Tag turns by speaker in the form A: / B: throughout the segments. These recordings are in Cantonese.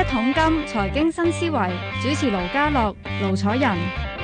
A: 桶金財經新思維，主持盧家樂、盧楚仁。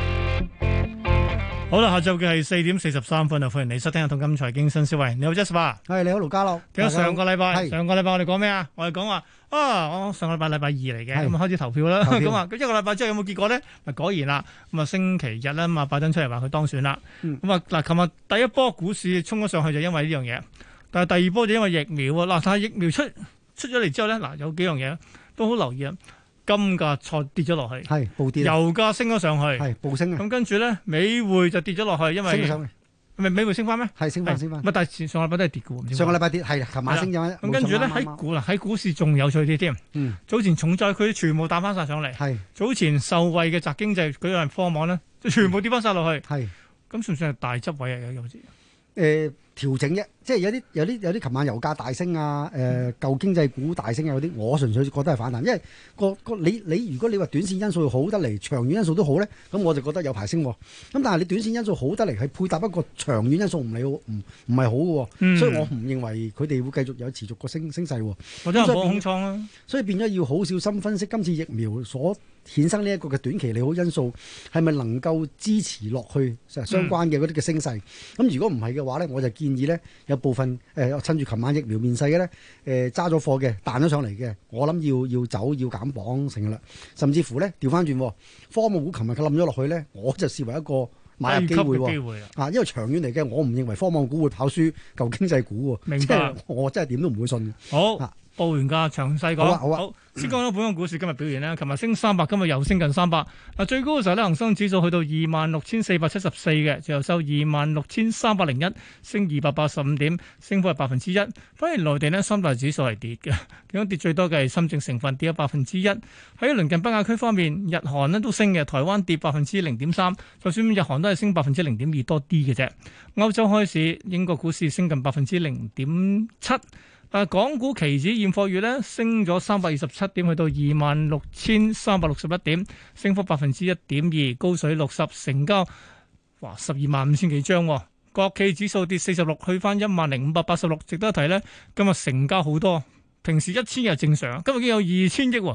B: 好啦，下晝嘅係4:43啊！歡迎你收聽《一桶金財經新思維》。你好 Jasper，
C: 係你好盧家樂。
B: 記得上個禮拜我哋講咩啊？我哋講話我上個禮拜2嚟嘅，咁啊開始投票啦。咁啊，一個禮拜之後有冇結果咧？咪果然啦。咁啊，星期日啦，拜登出嚟話佢當選啦。咁啊嗱，琴日第一波股市衝咗上去就因為呢樣嘢，但係第二波就因為疫苗啊。嗱，但係疫苗出咗嚟之後咧，嗱有幾樣嘢都好留意啊。金價再跌咗落去，
C: 係暴跌；
B: 油價升咗上去，
C: 係暴升。
B: 咁跟住咧，美匯就跌咗落去，因為
C: 升上嚟，
B: 係咪美匯升翻咩？係
C: 升翻。
B: 但係上個禮拜都係跌嘅喎。
C: 上個禮拜跌係，琴晚升咗。
B: 咁跟住咧喺股市仲有趣啲添。早前重災區全部打翻晒上嚟。係早前受惠嘅宅經濟舉例科網咧，就全部跌翻晒落去。係咁算唔算係大執位啊？有時
C: 調整啫，即係有啲，琴晚油價大升啊，舊經濟股大升啊嗰啲，我純粹覺得係反彈，因為你如果你話短線因素好得嚟，長遠因素都好咧，咁我就覺得有排升。咁但係你短線因素好得嚟，係配搭一個長遠因素唔係好嘅，所以我唔認為佢哋會繼續有持續個升勢。
B: 或者係冇空倉啦，
C: 所以變咗要好小心分析今次疫苗所衍生呢一個嘅短期利好因素係咪能夠支持落去相關嘅嗰啲嘅升勢？咁如果唔係嘅話咧，我就建議咧有部分趁住琴晚疫苗面世嘅咧揸咗貨嘅彈咗上嚟嘅，我諗要走要減磅成啦，甚至乎咧調翻轉科網股琴日佢冧咗落去咧，我就視為一個買入機會啊！因為長遠嚟嘅，我唔認為科網股會跑輸舊經濟股喎。明白，我真係點都唔會信。
B: 好。報完價，詳細講。好，先講咗本港股市今日表現咧。琴日升300，今日又升近300。嗱，最高嘅時候咧，恒生指數去到26,474嘅，最後收26,301，升285點，升幅係1%。反而內地呢，三大指數係跌嘅，其中跌最多嘅係深證成分跌咗1%。喺鄰近北亞區方面，日韓呢都升嘅，台灣跌0.3%，就算日韓都係升0.2%多啲嘅啫。歐洲開市，英國股市升近0.7%。港股期指現貨月咧升咗327點，去到26,361點，升幅1.2%，高水60，成交125000幾張。國企指數跌46，去翻10,586。值得一提咧，今日成交好多。平時1000日正常，今日已經有2000億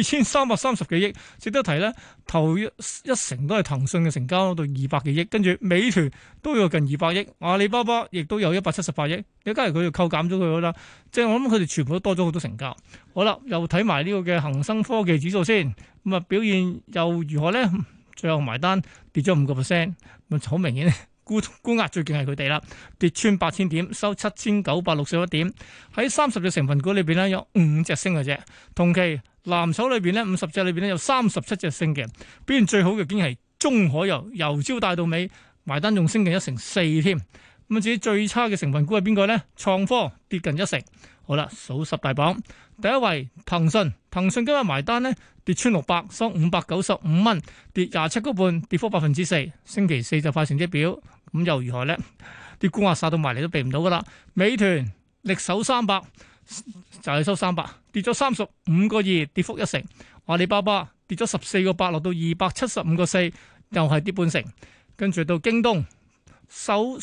B: ，2330幾億。值得提咧，頭一成都係騰訊嘅成交到200幾億，跟住美團都有近200億，阿里巴巴亦都有178億。你假如佢要扣減咗佢啦，即係我諗佢哋全部都多咗好多成交。好啦，又睇埋呢個嘅恒生科技指數先，咁啊表現又如何咧？最後埋單跌咗5%，咁好明顯。沽壓最勁係佢哋啦，跌穿8000點，收7961點。喺30隻成分股裏邊咧，有5隻升嘅啫。同期藍籌裏邊咧，50隻裏邊咧有37隻升嘅。表現最好嘅竟然係中海油，由朝帶到尾，埋單仲升近1成4添。咁至於最差嘅成分股係邊個咧？創科跌近1成。好啦，數10大榜，第一位騰訊今日埋單咧跌穿600，收595蚊，跌27個半，跌幅4%。星期四就快成績表。咁又如何咧？啲沽壓殺到埋嚟都避唔到噶啦。美團力守300，就係收300，跌咗35個2，跌幅1成。阿里巴巴跌咗14個8，落到275個4，又係跌半成。跟住到京東收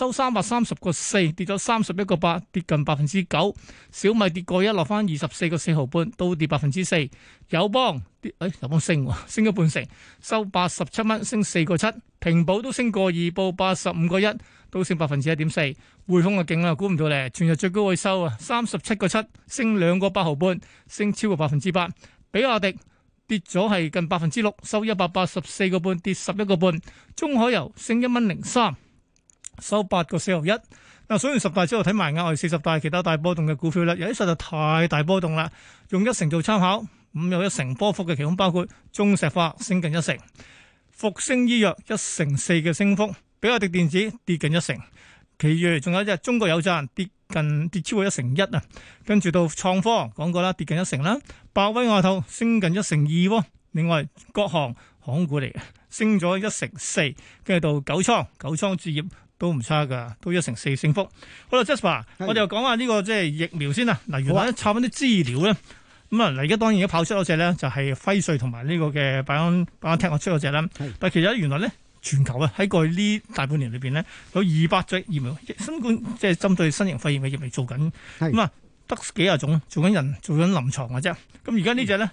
B: 330個4，跌咗31個8，跌近9%。小米跌過1，落翻24個4毫半，都跌4%。友邦友邦升咗半成，收87蚊，升4個7。平保都升過2，報85個1，都升1.4%。匯豐就勁啦，估唔到咧，全日最高位收啊37個7，升2個8毫半，升超過8%。比亞迪跌咗係近6%，收184個半，跌11個半。中海油升1.03，收8個4毫1。嗱，數完10大之後睇埋額外40大其他大波動嘅股票啦，有啲實在太大波動啦，用1成做參考，咁有1成波幅嘅，其中包括中石化升近1成。復星醫藥1.4%嘅升幅，比亞迪電子跌近1成，其餘仲有一隻中國有贊跌超過1.1%啊，跟住到創科講過啦，跌近1成啦，百威亞太升近1.2%，另外國航航空股嚟嘅升咗1.4%，跟住到九倉置業都唔差噶，都1.4%升幅。好啦 Jasper， 我哋又講下呢個即係疫苗先啦。嗱，原來插翻啲資料咧。咁啊，而家當然而家跑出嗰隻咧，就係輝瑞同埋呢個嘅BioNTech出嗰隻啦。但係其實原來咧，全球啊喺過去呢大半年裏邊咧，有200隻疫苗，新冠即係針對新型肺炎嘅疫苗做緊。咁啊，得幾廿種做緊臨床嘅啫。咁而家呢隻咧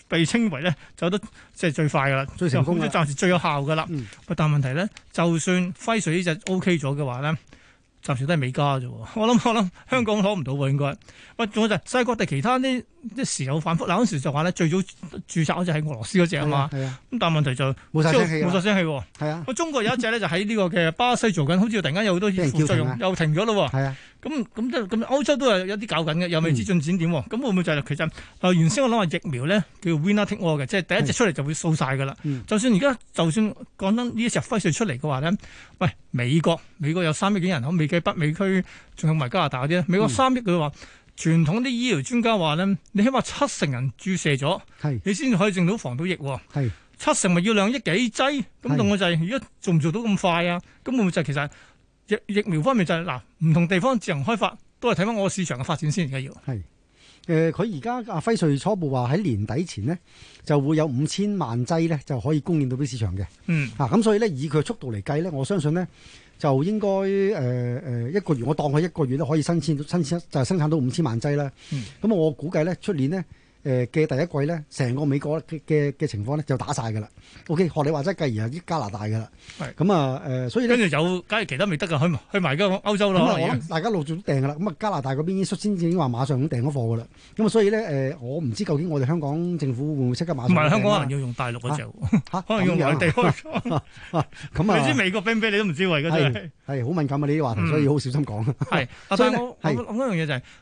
B: 被稱為咧走得即係最快噶啦，
C: 最成功嘅，
B: 暫時最有效噶啦。但問題咧，就算輝瑞呢隻 O K 咗嘅話咧，暫時都係美加啫。我諗香港攞唔到喎，應該。喂，仲有就係世界各地其他啲時有反覆。嗱，嗰時就話咧，最早註冊嗰隻係俄羅斯嗰隻啊嘛。咁但係問題就
C: 冇晒聲氣，
B: 冇晒聲氣喎。
C: 係啊。
B: 中國有一隻咧，就喺呢個嘅巴西做緊，好似突然間有好多副作用，又停咗咯喎。
C: 係啊。
B: 咁歐洲都係有啲搞緊嘅，又未知進展點喎。咁會唔會就係其實原先我諗話疫苗咧叫 winner take all 嘅，即係第一隻出嚟就會掃晒㗎啦。就算而家就算講真呢一隻輝瑞出嚟嘅話咧，喂，美國有3億幾人口，未計北美區，仲有埋加拿大嗰啲咧，美國3億佢話。傳統啲醫療專家話咧，你起碼70%人注射咗，你先至可以整到防到疫喎。70%咪要2億幾劑，咁同我就係如果做唔做到咁快啊？咁會唔會就係其實疫苗方面就係嗱，唔同地方自行開發都係睇翻我個市場嘅發展先，而家要。
C: 佢而家輝瑞初步話喺年底前呢就會有5000萬劑咧就可以供應到俾市場嘅。咁所以咧以佢速度嚟計咧，我相信咧。就應該一個月，我當佢一個月都可以生產就係生產到5000萬劑啦。咁我估計咧，出年咧嘅第一季咧，成個美國嘅情況咧就打晒㗎啦。OK， 學你話齋，繼而係啲加拿大㗎啦。咁啊所以咧跟住有，假如其他未得㗎，去埋嗰歐洲咯。我諗大家陸續都訂㗎啦。咁啊，加拿大嗰邊率先已經話馬上咁訂咗貨㗎啦。咁啊，所以咧我唔知究竟我哋香港政府會唔會即刻馬上？唔係香港可能要用大陸嗰隻，可能用內地開。咁啊，你知美國俾唔俾你都唔知喎，而家真係。係好敏感啊！呢啲話題，所以好小心講。係，但係我諗一樣嘢就係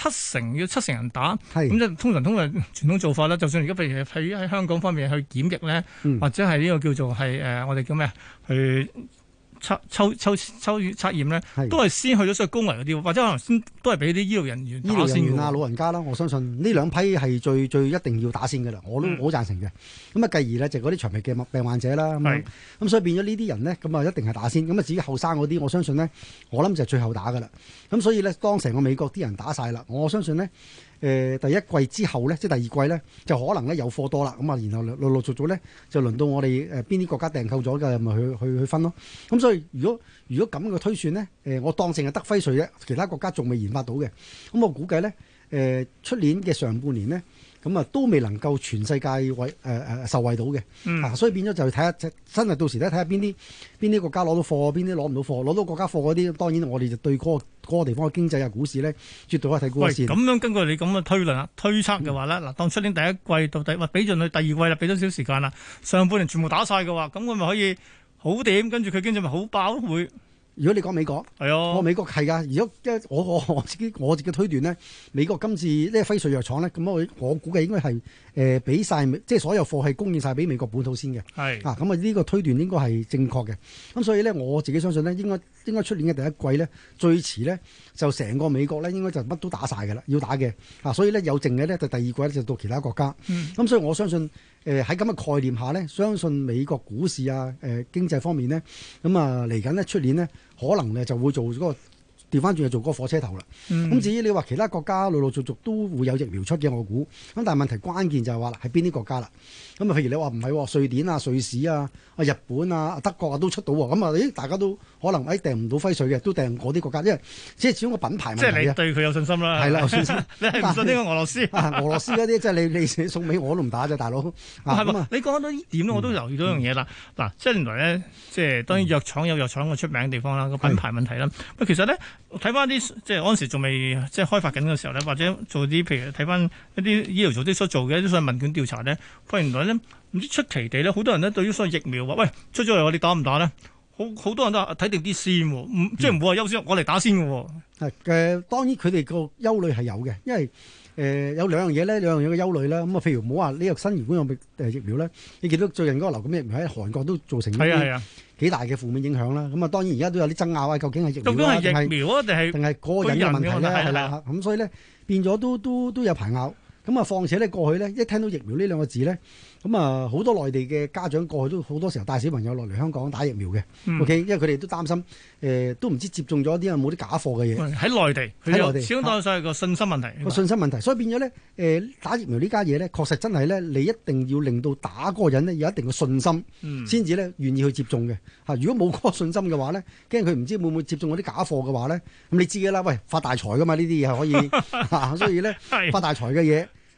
C: 70%人打，咁即係通常傳統做法啦。就算而家譬如喺香港方面去檢疫咧，或者係呢個叫做係我哋叫咩啊？去抽測驗咧，都係先去咗所謂高危嗰啲，或者可能先都係俾啲醫療人員打先啊，老人家啦，我相信呢兩批係最一定要打先㗎啦。我都好贊成嘅。咁啊，繼而咧就嗰啲長期嘅病患者啦，咁所以變咗呢啲人咧，咁啊一定係打先。咁啊至於後生嗰啲，我相信咧，我諗就係最後打㗎啦。咁所以咧，當成個美國啲人打晒啦，我相信咧。第一季之後咧，即係第二季咧，就可能咧有貨多啦。咁啊，然後陸續續咧，就輪到我哋邊啲國家訂購咗嘅，咪去分咯。咁所以如果咁嘅推算咧，我當淨係得輝瑞啫，其他國家仲未研發到嘅。咁我估計咧，出年嘅上半年咧，咁啊都未能夠全世界受惠到嘅。所以變咗就睇下真係到時咧睇下邊啲國家攞到貨，邊啲攞唔到貨。攞到國家貨嗰啲，當然我哋就對嗰個地方嘅經濟啊、股市咧，絕對可以睇高一線。咁樣根據你咁嘅推論啊、推測嘅話咧，嗱，當出年第一季到底俾盡佢第二季啦，俾多少時間啦，上半年全部打晒嘅話，咁佢咪可以好點？跟住佢經濟咪好爆會。如果你講美國，係啊，我美國係㗎。如果即係我自己推斷咧，美國今次呢個輝瑞藥廠咧，咁我估計應該係俾晒，即係所有貨係供應晒俾美國本土先嘅。係咁啊，呢個推斷應該係正確嘅。咁所以咧，我自己相信咧，應該出年嘅第一季咧，最遲咧就成個美國咧應該就乜都打晒㗎啦，要打嘅。所以咧有剩嘅咧就第二季咧就到其他國家。咁所以我相信喺咁嘅概念下咧，相信美國股市啊經濟方面咧，咁啊嚟緊咧出年咧。可能咧就會做嗰個調翻轉去做嗰個火車頭啦。咁至於你話其他國家陸續續都會有疫苗出嘅，我估。咁但係問題關鍵就係話啦，係邊啲國家啦？咁啊，譬如你話唔係瑞典啊、瑞士啊、日本啊、德國啊都出到喎。咁啊，大家都可能訂唔到輝瑞嘅，都訂嗰啲國家，因為即係始終個品牌問題。即係你對佢有信心啦。係啦，有信心。你係唔信呢個俄羅斯？俄羅斯嗰啲即係你送俾我都唔打啫，大佬。係嘛？你講到呢點我都留意到一樣嘢啦。嗱，即係原來咧，即係當然藥廠有藥廠嘅出名嘅地方啦，個品牌問題啦。喂，其實咧睇翻啲即係嗰陣時仲未即係開發緊嘅時候咧，或者做啲譬如睇翻一啲醫療組織所做嘅一啲所謂問卷調查咧，發現原來咧唔知出奇地咧，好多人咧對於所謂疫苗話，喂，出咗嚟我哋打唔打咧？好多人都睇定啲先喎，即係唔會話優先，我嚟打先嘅喎。當然佢哋個憂慮係有嘅，因為有兩樣嘢咧，兩樣嘢嘅憂慮啦。咁啊，譬如唔好話呢個新型冠狀疫苗咧，你見到最近嗰個流感疫苗喺韓國都造成幾大嘅負面影響啦。咁啊，當然而家都有啲爭拗啊，究竟係疫苗啊，定係嗰個人嘅問題咧？係啦，咁所以咧變咗都有排拗。咁啊，況且咧過去咧一聽到疫苗呢兩個字咧，咁啊好多內地嘅家長過去都好多時候帶小朋友落嚟香港打疫苗嘅。OK，因為佢哋都擔心都唔知接種咗啲有冇啲假貨嘅嘢喺內地，始終當然係個信心問題。個信心問題，所以變咗咧打疫苗呢家嘢咧，確實真係咧，你一定要令到打嗰個人咧有一定嘅信心，先至咧願意去接種嘅。如果冇嗰個信心嘅話咧，驚佢唔知會唔會接種嗰啲假貨嘅話咧，咁你知嘅啦，喂，發大財噶嘛，呢啲嘢係可以所以咧發大財嘅嘢。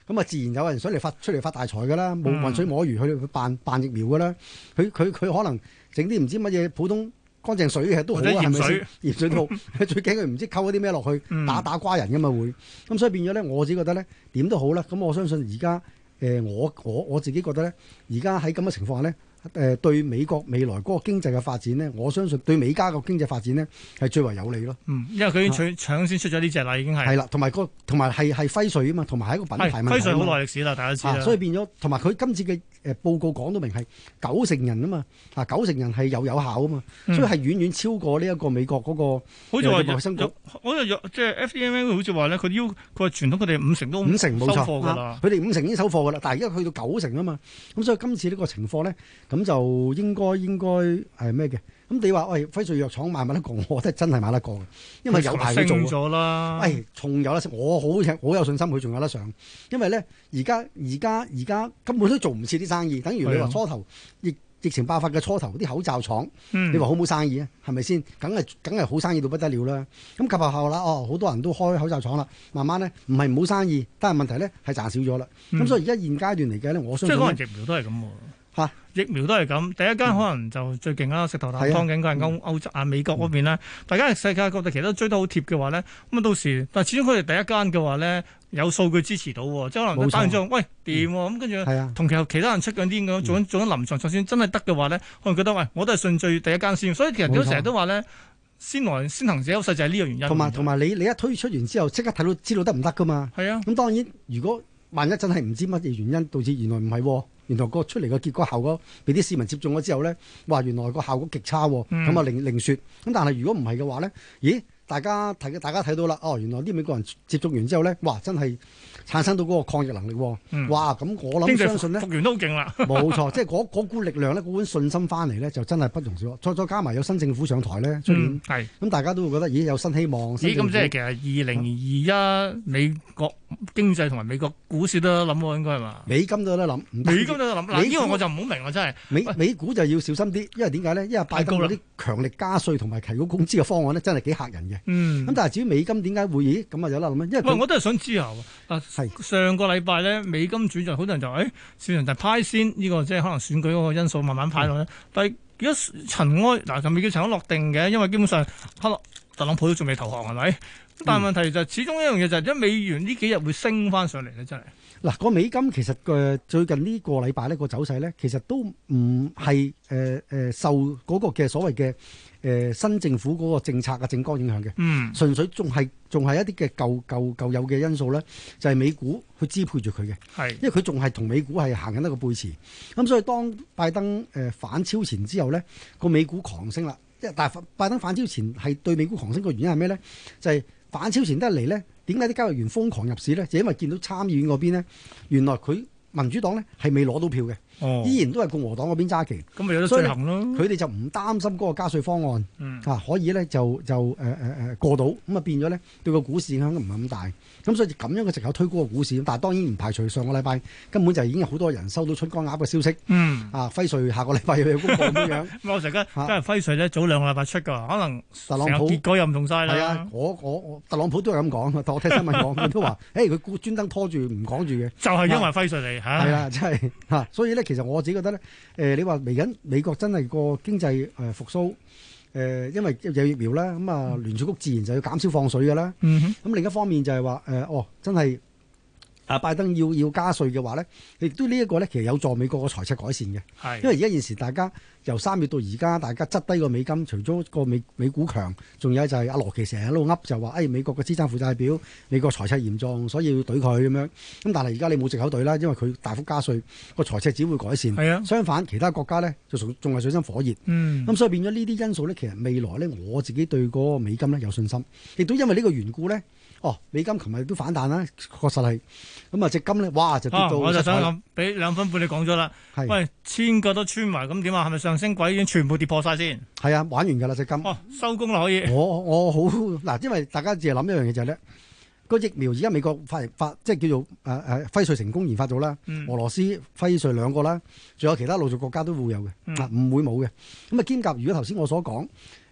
C: 咁啊自然有人想出嚟發大財噶啦，冇渾水摸魚去辦疫苗噶啦。佢可能整啲唔知乜嘢普通乾淨水嘅都好啊，係咪先？鹽水都好，最驚佢唔知溝啲咩落去打瓜人噶嘛會。咁所以變咗咧，我自己覺得咧點都好啦。咁我相信而家我自己覺得咧，而家喺咁嘅情況下咧。對美國未來嗰個經濟嘅發展咧，我相信對美加個經濟發展咧係最為有利咯。
B: 因為佢已經搶先出咗呢隻啦，已經係。係啦，
C: 同埋係輝瑞啊嘛，同埋係一個品牌問題。輝
B: 瑞好耐歷史啦，大家知啦。
C: 所以變咗，同埋佢今次嘅報告講到明係90%人啊嘛，90%人係有效啊嘛，所以係遠遠超過呢一個美國嗰個。好似話衞生局，
B: 好似即係 FDA 好似話咧，佢話傳統佢哋50%都
C: 50%冇錯
B: 收貨㗎啦。
C: 佢哋50%已經收貨㗎啦，但係而家去到90%啊嘛，咁所以今次呢個情況咧。咁就應該係咩嘅？咁你話喂，輝瑞藥廠買唔買得過？我覺得真係買得過嘅，因為有排佢做咗啦。仲有得食，我好有信心佢仲有得上。因為咧，而家根本都做唔切啲生意。等於你話初頭疫情爆發嘅初頭，啲口罩廠，你話好冇生意啊？係咪先？梗係好生意到不得了啦。咁及後啦，好多人都開口罩廠啦。慢慢咧，唔係冇生意，但係問題咧係賺少咗啦。咁所以而家現階段嚟計咧，我相信即係
B: 可能疫苗都係咁喎。疫苗都係咁，第一間可能就最勁啦，石頭啖湯嘅，佢係歐洲美國嗰邊咧。大家世界各地其實都追得好貼嘅話咧，咁啊到時，但係始終佢哋第一間嘅話咧，有數據支持到喎，即係可能打完之後，喂掂喎，咁跟住同其他人出緊啲咁做緊臨床，就算真係得嘅話咧，可能覺得喂，我都係順序第一間先。所以其實都成日都話咧，先行者優勢就係呢個原因。
C: 同埋你一推出完之後，即刻睇到知道得唔得噶嘛？係啊。咁當然，如果萬一真係唔知乜嘢原因導致原來唔係喎。原來個出嚟個結果效果俾啲市民接種咗之後咧，哇！原來個效果極差喎，咁啊另説。咁但係如果唔係嘅話咧，咦？大家睇到啦，原來啲美國人接種完之後咧，哇！真係產生到嗰個抗疫能力喎，哇！咁我諗相信咧，
B: 復原都好勁啦，
C: 冇錯，即係嗰股力量咧，嗰股信心翻嚟咧，就真係不容小可。再加埋有新政府上台咧，出年咁大家都會覺得，咦？有新希望。咁即係其
B: 實2021美國經濟同埋美國股市都有得諗喎，應該係嘛？
C: 美金都有得諗，
B: 美金都有得諗。嗱，呢個我就唔好明啦，真係。
C: 美股就要小心啲，因為點解咧？因為拜登嗰啲強力加稅同埋提高工資嘅方案咧，真係幾嚇人嘅。咁但係至於美金點解會咦咁啊有得諗咧？因為
B: 我都係想知下喎。上個禮拜咧，美金轉弱，好多人就市場就派先呢個即係可能選舉嗰個因素慢慢派落咧。但係而家塵埃就未叫塵埃落定嘅，因為基本上特朗普都仲未投降係咪？但係問題就始終一樣嘢就係，因為美元呢幾日會升翻上嚟咧，真係。
C: 嗱，個美金其實最近呢個禮拜呢個走勢咧，其實都唔係受嗰個嘅所謂嘅新政府嗰個政策嘅政綱影響嘅，純粹仲係一啲嘅舊有嘅因素咧，就係美股去支配住佢嘅，因為佢仲係同美股係行緊一個背馳，咁所以當拜登反超前之後咧，個美股狂升啦，但係拜登反超前係對美股狂升個原因係咩咧？就係反超前得嚟咧，點解啲交易員瘋狂入市咧？就因為見到參議院嗰邊咧，原來佢民主黨咧係未攞到票嘅，依然都係共和黨嗰邊揸旗，咁咪有得進行咯。佢哋就唔擔心嗰個加稅方案，可以咧就過到，咁啊變咗咧對個股市影響唔係咁大，咁所以咁樣嘅藉口推高個股市。但係當然唔排除上個禮拜根本就已經有好多人收到春江鴨嘅消息，輝瑞下個禮拜要有公布咁樣。
B: 我成日真係輝瑞咧早2個禮拜出㗎，可能
C: 特朗普
B: 結果又唔同晒啦。
C: 係啊，我特朗普都係咁講，但我聽新聞講佢都話，佢專登拖住唔講住嘅，
B: 就係因為輝瑞嚟嚇。
C: 係啦，真係所以咧，其實我自己覺得咧，你話嚟緊美國真係個經濟復甦，因為有疫苗啦，咁啊聯儲局自然就要減少放水㗎啦。咁另一方面就係話真係拜登要加稅嘅話咧，亦都呢一個咧，其實有助美國個財赤改善嘅。因為而家現時大家由3月到而家，大家質低個美金，除咗個美股強，仲有就係阿羅奇成日喺度噏就話，美國嘅資產負債表，美國財赤嚴重，所以要懟佢咁樣。咁但係而家你冇藉口懟啦，因為佢大幅加稅，個財赤只會改善。相反，其他國家咧就仲係水深火熱。咁所以變咗呢啲因素咧，其實未來咧我自己對嗰個美金咧有信心，亦都因為呢個緣故咧。美金琴日都反彈啦，確實係。咁啊，隻金咧，哇就跌到。
B: 我就想諗，俾2分半你講咗啦。喂，1000個都穿埋，咁點啊？係咪上升軌已經全部跌破晒先？
C: 係啊，玩完㗎啦隻金。
B: 收工啦可以。
C: 我好嗱，因為大家淨係諗一樣嘢就係咧，個疫苗而家美國發即係叫做輝瑞成功研發咗啦，俄羅斯輝瑞2個啦，仲有其他陸續國家都會有嘅，唔會冇嘅。咁啊兼夾，如果頭先我所講。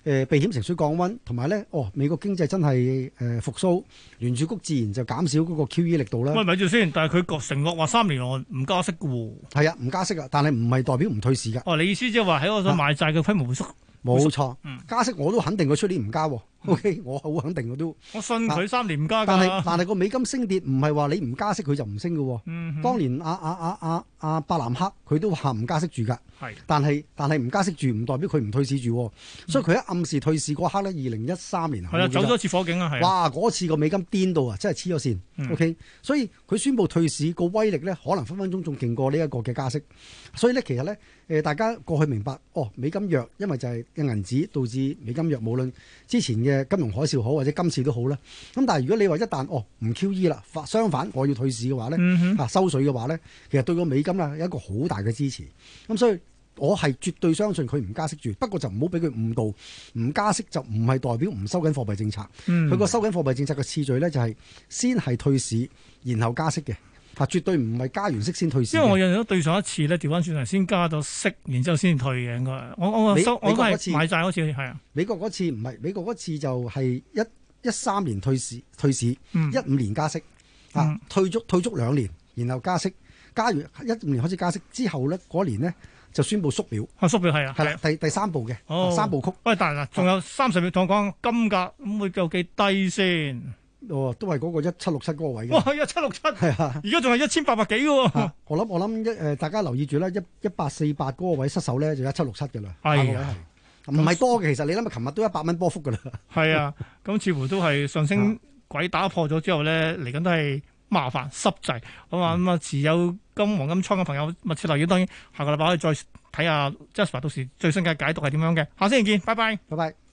C: 避險情緒降溫，同埋咧美國經濟真係復甦，聯儲局自然就減少嗰個 QE 力度啦。
B: 喂，咪住先，但係佢承諾話3年內唔加息嘅喎。
C: 係啊，唔加息啊，但係唔係代表唔退市㗎。
B: 哦，你意思即係話喺我想買債嘅規模會縮？
C: 冇錯，加息我都肯定佢出年唔加。OK， 我好肯定我都。
B: 我信佢3年唔加㗎。
C: 但係個美金升跌唔係話你唔加息佢就唔升嘅。當年阿伯南克佢都話唔加息住㗎。係。但係唔加息住唔代表佢唔退市住。所以佢一暗示退市嗰刻咧，2013年
B: 係啊，走咗一次火警啊，係。
C: 哇！嗰次個美金癲到啊，真係黐咗線。OK， 所以佢宣布退市個威力咧，可能分分鐘仲勁過呢一個嘅加息。所以咧，其實咧，大家過去明白，美金弱，因為就係嘅銀紙導致美金弱，無論之前嘅金融海嘯好或者今次都好啦。咁但係如果你話一旦唔 QE 啦，相反我要退市嘅話咧，收水嘅話咧，其實對個美金啊有一個好大嘅支持。咁所以我係絕對相信佢唔加息住，不過就唔好俾佢誤導，唔加息就唔係代表唔收緊貨幣政策。佢個收緊貨幣政策嘅次序咧就係先係退市，然後加息嘅。絕對唔係加完息先退市。因為
B: 我印象對上一次咧調翻轉係先加咗息，然之後先退嘅應該。我都係買債嗰次係啊。美國嗰次
C: 唔係，美國嗰次就係13年退市，15年加息，退足2年，然後加息，加完15年開始加息之後咧，嗰年咧就宣布縮表。
B: 縮表係啊。係啦，
C: 第三步嘅三部曲。
B: 喂，但係仲有30秒同我講金價咁會有幾低先？
C: 都係嗰個1767嗰個位嘅。
B: 哇，1767係啊！而家仲係1800幾嘅喎。我
C: 諗大家留意住啦，1848嗰個位失手咧就1767嘅啦。
B: 係
C: 唔係多嘅，其實你諗下，琴日都100蚊波幅嘅啦。
B: 係啊，咁似乎都係上升軌打破咗之後咧，嚟緊都係麻煩濕滯。咁啊，持有黃金倉嘅朋友密切留意。當然，下個禮拜可以再睇下 Jasper 到時最新嘅解讀係點樣嘅。下星期見，拜拜，
C: 拜拜。